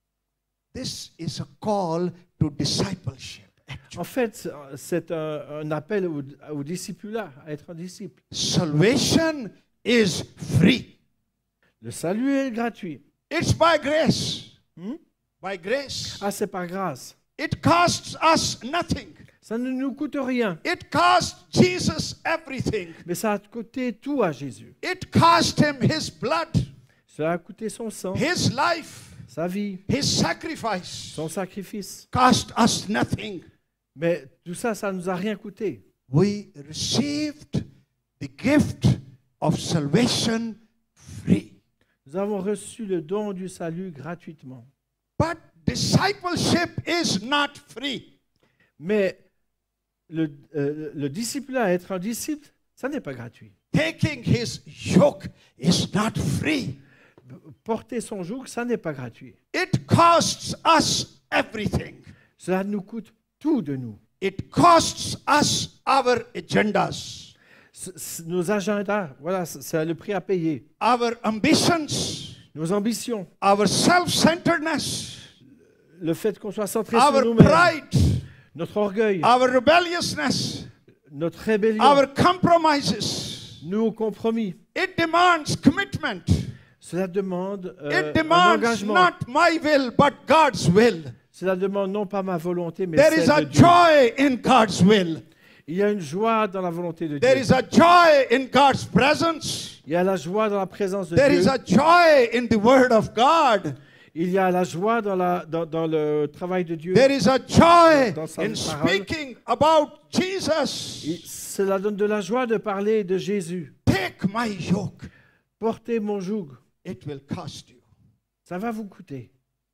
This is a call to discipleship. En fait, c'est un, un appel au, au discipulat, à être un disciple. Salvation is free. Le salut est gratuit. It's by grace. Hmm? By grace. Ah, c'est par grâce. It costs us nothing. Ça ne nous coûte rien, It cost Jesus everything. mais ça a coûté tout à Jésus. It cost him his blood, Cela a coûté son sang, his life, sa vie, his sacrifice. son sacrifice. Cost us nothing. Mais tout ça, ça ne nous a rien coûté. We received the gift of salvation free. Nous avons reçu le don du salut gratuitement. But discipleship is not free. Mais le, euh, le discipulat, être un disciple, ça n'est pas gratuit. Taking his yoke is not free. Porter son joug, ça n'est pas gratuit. It costs us everything. Cela nous coûte tout de nous. It costs us our agendas, C- c- Nos agendas, voilà, c- c'est le prix à payer. our ambitions, Nos ambitions, our self-centeredness, le fait qu'on soit centré our sur nous-mêmes, pride, notre orgueil, our rebelliousness, notre rébellion, our compromises. nos compromis. It demands commitment. Cela demande euh, It un demands engagement. not my will, but God's will. Cela demande non pas ma volonté, mais There is a celle de Dieu. joy in God's will. Il y a une joie dans la volonté de There Dieu. is a joy in God's presence. Il y a la joie dans la présence de There Dieu. is a joy in the Word of God. Il y a la joie dans, la, dans, dans le travail de Dieu. There is a joy Dans sa in parole. speaking about Jesus. Il- Cela donne de la joie de parler de Jésus. Take my yoke. Portez mon joug. It will cost you. Ça va vous coûter.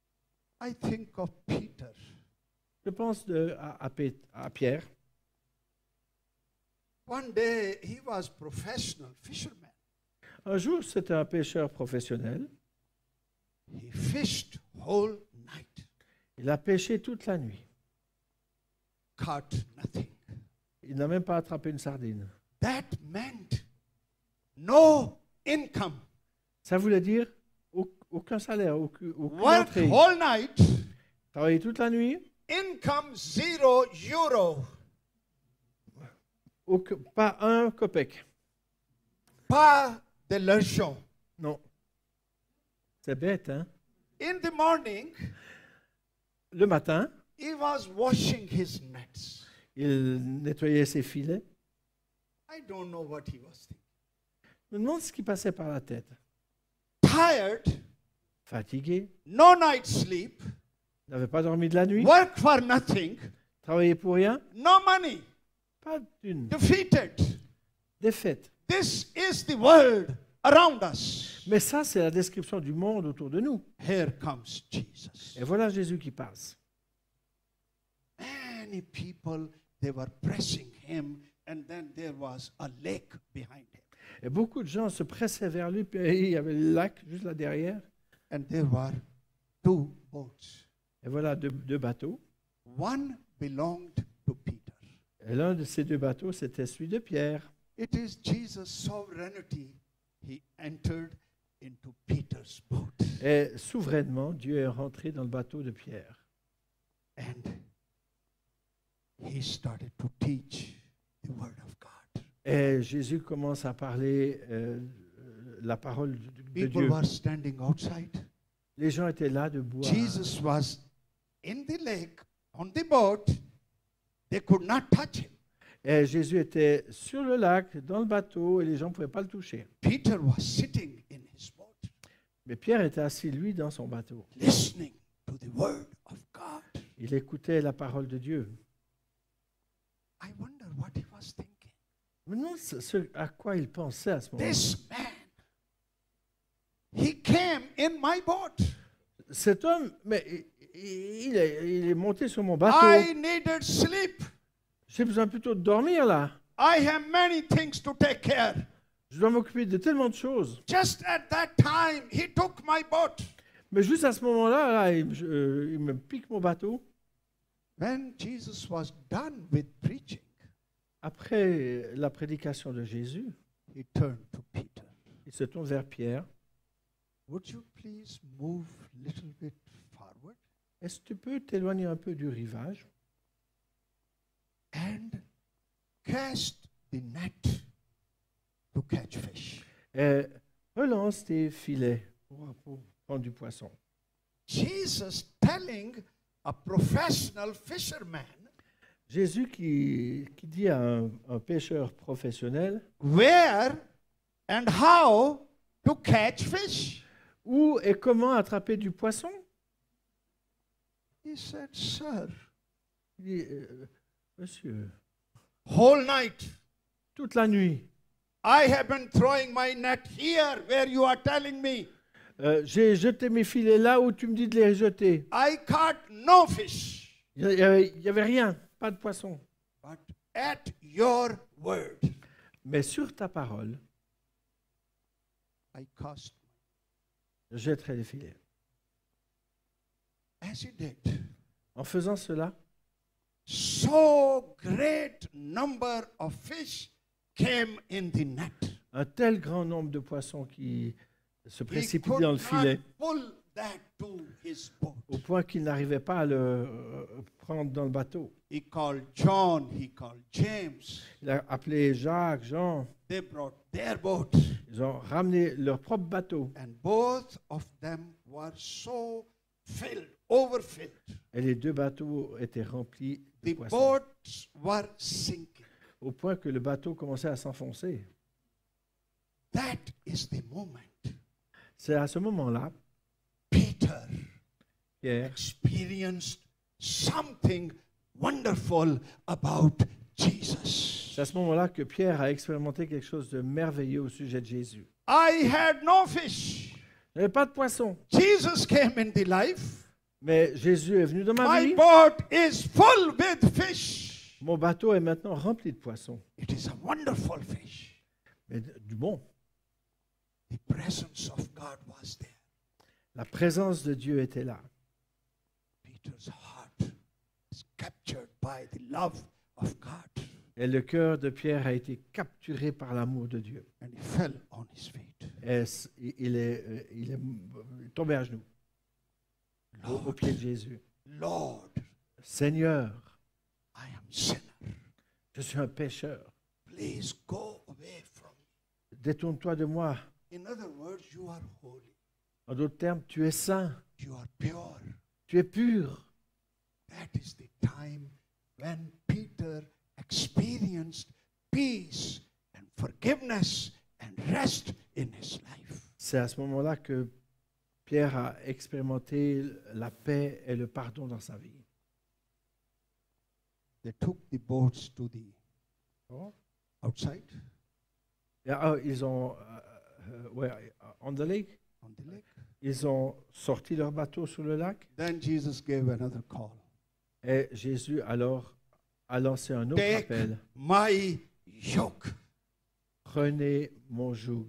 I think of Peter. Je pense de, à, à Pé- à Pierre. One day he was professional fisherman. Un jour, c'était un pêcheur professionnel. He fished whole night, Il a pêché toute la nuit. caught nothing. Il n'a même pas attrapé une sardine. That meant no income. Ça voulait dire au- aucun salaire, aucune, aucune Work entrée. whole night, Travailler toute la nuit, income zero euro. aucun- pas un copec. Pas de l'argent. Non. C'est bête, hein? In the morning, Le matin, he was washing his nets. il nettoyait ses filets. I don't know what he was thinking. Je me demande ce qui passait par la tête. Tired, Fatigué, no night sleep, n'avait pas dormi de la nuit, work for nothing, travaillé pour rien, no money, pas d'une defeated. défaite. This is the world around us. Mais ça, c'est la description du monde autour de nous. Here comes Jesus. Et voilà Jésus qui passe. Man, many people, they were pressing him, and then there was a lake behind him. Et beaucoup de gens se pressaient vers lui, puis il y avait le lac juste là derrière. And there were two boats. Et voilà deux, deux bateaux. One belonged to Peter. Et l'un de ces deux bateaux, c'était celui de Pierre. It is Jesus' sovereignty. He entered into Peter's boat. Et souverainement, Dieu est rentré dans le bateau de Pierre. And he started to teach the word of God. Et Jésus commence à parler euh, la parole de, de People Dieu. were standing outside. Les gens étaient là debout. à- Jesus was in the lake, on the boat. They could not touch him. Et Jésus était sur le lac, dans le bateau, et les gens ne pouvaient pas le toucher. Peter was sitting in his boat, Mais Pierre était assis, lui, dans son bateau. listening to the word of God. Il écoutait la parole de Dieu. I wonder what he was thinking. Maintenant, ce ce à quoi il pensait à ce moment-là. This man, he came in my boat. Cet homme, mais il- il est, il est monté sur mon bateau. I needed sleep. J'ai besoin plutôt de dormir là. I have many things to take care. Je dois m'occuper de tellement de choses. Just at that time, he took my boat. Mais juste à ce moment-là, là, il, je- euh, il me pique mon bateau. When Jesus was done with preaching, Après la prédication de Jésus, he turned to Peter. il se tourne vers Pierre. Would you please move a little bit forward Est-ce que tu peux t'éloigner un peu du rivage and cast the net to catch fish? et relance tes filets pour, pour prendre du poisson. Jesus telling a professional fisherman Jésus qui, qui dit à un, un pêcheur professionnel where and how to catch fish. où et comment attraper du poisson. He said, Sir, Il dit, euh, monsieur, whole night toute la nuit, I have been throwing my net here where you are telling me. euh, j'ai jeté mes filets là où tu me dis de les jeter. I caught no fish, Il n'y avait, il y avait rien, pas de poisson. but at your word Mais sur ta parole, I cast. je jetterai les filets. As he did, En faisant cela, so great number of fish came in the net. un tel grand nombre de poissons qui se He précipitent could dans le not filet, pull that to his boat. au point qu'il n'arrivait pas à le euh, prendre dans le bateau. He called John, he called James. Il a appelé Jacques, Jean, They brought their boat, ils ont ramené leur propre bateau. and both of them were so filled, overfilled. Et les deux bateaux étaient remplis de The poissons, boats were sinking. au point que le bateau commençait à s'enfoncer. That is the moment C'est à ce moment-là, Peter Pierre experienced something wonderful about Jesus. C'est à ce moment-là que Pierre a expérimenté quelque chose de merveilleux au sujet de Jésus. I had no fish. Il n'y avait pas de poisson, Jesus came in the life. mais Jésus est venu dans ma My vie. boat is full with fish. Mon bateau est maintenant rempli de poissons, It is a wonderful fish. mais d- du bon. The presence of God was there. La présence de Dieu était là. Peter's heart is captured by the love of God, Et le cœur de Pierre a été capturé par l'amour de Dieu. and he fell on his feet. Et c- il est, euh, il est euh, tombé à genoux au, au Lord, pied de Jésus. Lord, Seigneur, I am sinner. je suis un pécheur. Please go away from me. Détourne-toi de moi. In other words, you are holy. En d'autres termes, tu es saint, You are pure. tu es pur. That is the time when Peter experienced peace and forgiveness and rest in his life. C'est à ce moment-là que Pierre a expérimenté la paix et le pardon dans sa vie. They took the boats to the Oh. outside Et, ah, ils ont, euh, euh, ouais, on the lake, on the lake. ils ont sorti leur bateau sur le lac Then Jesus gave another call. et Jésus alors a lancé un autre Take appel. my yoke. Prenez mon joug.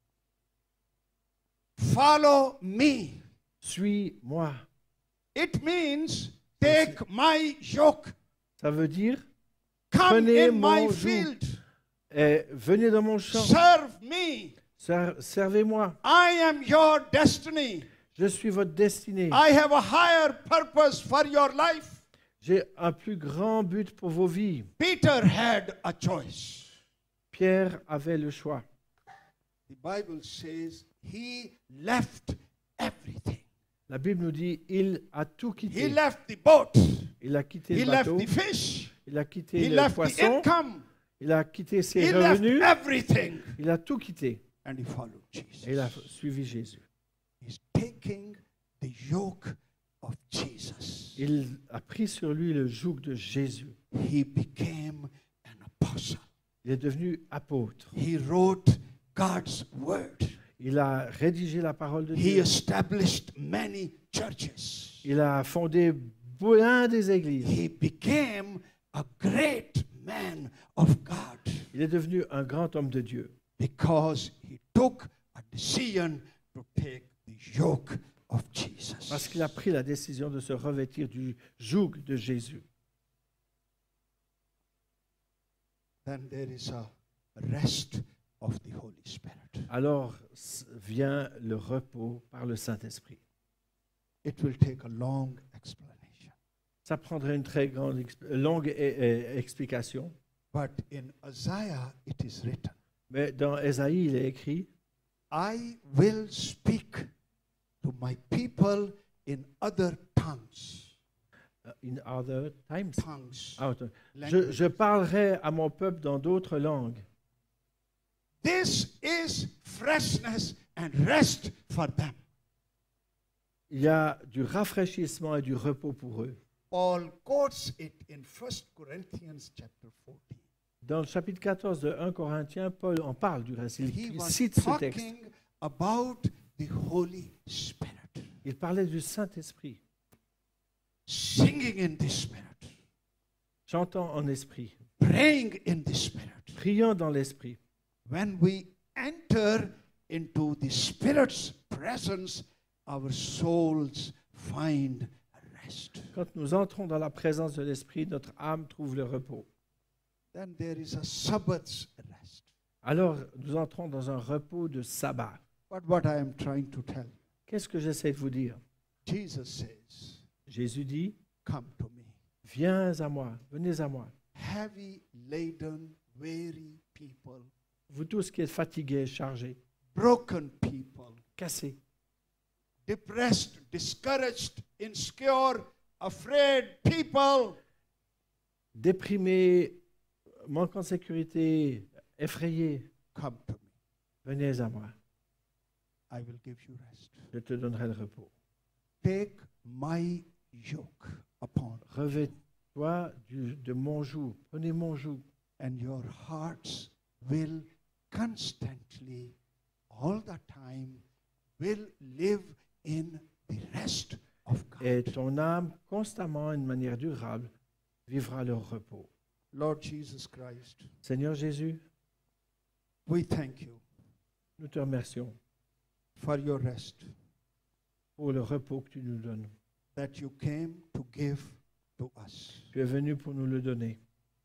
Follow me. Suis-moi. It means take my yoke. Ça veut dire, Come prenez in my mon joug. field. eh, venez dans mon champ. Serve me. Ser- Servez-moi. I am your destiny. Je suis votre destinée. I have a higher purpose for your life. J'ai un plus grand but pour vos vies. Peter had a choice. Pierre avait le choix. The Bible says he left everything. La Bible nous dit, il a tout He quitté. left the boat. Il a quitté He le left bateau. the fish. Il a quitté He le left the poisson. income. Il a quitté ses He left revenus. everything. Il a tout quitté. And he followed Jesus. Et il a suivi Jésus. He's taking the yoke of Jesus. Il a pris sur lui le joug de Jésus. He became an apostle. Il est devenu apôtre. He wrote God's word. Il a rédigé la parole de He Dieu. established many churches. Il a fondé plein des églises. He became a great man of God Il est devenu un grand homme de Dieu because he took a decision to take the yoke of Jesus. parce qu'il a pris la décision de se revêtir du joug de Jésus. Then there is a rest of the Holy Spirit. Alors s- vient le repos par le Saint-Esprit. It will take a long explanation. Ça prendrait une très grande, exp- longue eh, eh, explication. But in Isaiah it is written, Mais dans Ésaïe, il est écrit, I will speak to my people in other tongues. uh, in other times. Tongues. Ah, attends. je, languages. je parlerai à mon peuple dans d'autres langues. This is freshness and rest for them. Il y a du rafraîchissement et du repos pour eux. Paul quotes it in First Corinthians chapter fourteen. Dans le chapitre quatorze de Premier Corinthiens, Paul en parle du reste. Il He was cite ce texte. talking about the Holy Spirit, Il parlait du Saint-Esprit, singing in the Spirit, chantant en esprit, praying in the Spirit. priant dans l'esprit. When we enter into the Spirit's presence, our souls find rest. Quand nous entrons dans la présence de l'esprit, notre âme trouve le repos. Then there is a Sabbath's rest. Alors, nous entrons dans un repos de sabbat. But what I am trying to tell you, Qu'est-ce que j'essaie de vous dire? Jesus says, Jésus dit, come to me. viens à moi, venez à moi. Heavy laden, weary people, Vous tous qui êtes fatigués, chargés, broken people, cassés, depressed, discouraged, insecure, afraid people, déprimés, manquant de sécurité, effrayés, come to me. venez à moi. I will give you rest. Je te donnerai le repos. Take my yoke upon you, Revêt-toi du- de mon joug, prenez mon joug, and your hearts will constantly, all the time, will live in the rest of God. et ton âme, constamment, d'une manière durable, vivra le repos. Lord Jesus Christ, Seigneur Jésus, we thank you nous te remercions for your rest pour le repos que tu nous donnes. that you came to give to us. Tu es venu pour nous le donner.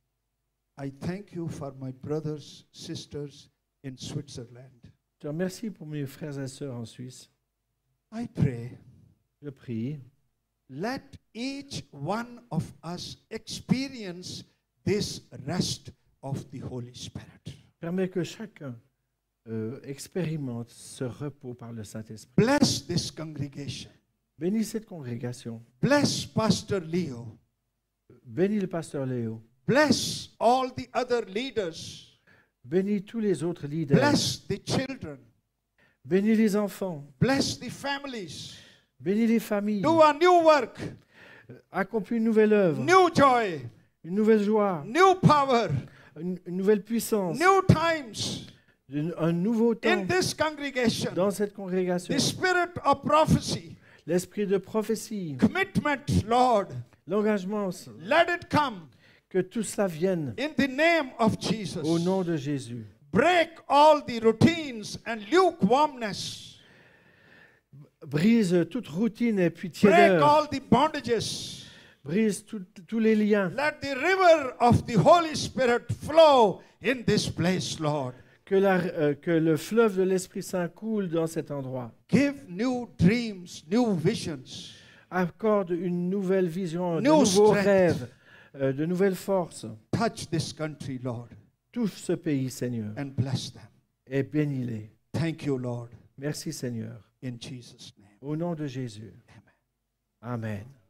I thank you for my brothers, sisters in Switzerland. Je te remercie pour mes frères et sœurs en Suisse. I pray, Je prie, let each one of us experience this rest of the Holy Spirit. permets que chacun euh, expérimente ce repos par le Saint-Esprit. Bless this congregation. Bénis cette congrégation. Bless Pastor Leo. Bénis le pasteur Léo. Bless all the other leaders. Bénis tous les autres leaders. Bless the children. Bénis les enfants. Bless the families. Bénis les familles. Do a new work, Accomplis une nouvelle œuvre, new joy, une nouvelle joie, new power, une, une nouvelle puissance, new times une- un nouveau temps in this congregation. dans cette congrégation. The spirit of prophecy, L'esprit de prophétie, commitment, Lord, l'engagement, let it come. Que tout cela vienne in the name of Jesus. au nom de Jésus. Break all the routines and lukewarmness. Brise toute routine et puis Break tiédeur. all the bondages. Brise tout- tous les liens. Let the river of the Holy Spirit flow in this place, Lord. Que, la- euh, que le fleuve de l'Esprit Saint coule dans cet endroit. Give new dreams, new visions. Accorde une nouvelle vision, de New nouveaux strength. rêves, euh, de nouvelles forces. Touch this country, Lord, Touche ce pays, Seigneur, and bless them. et bénis-les. Thank you, Lord, Merci, Seigneur. in Jesus' name. Au nom de Jésus. Amen. Amen.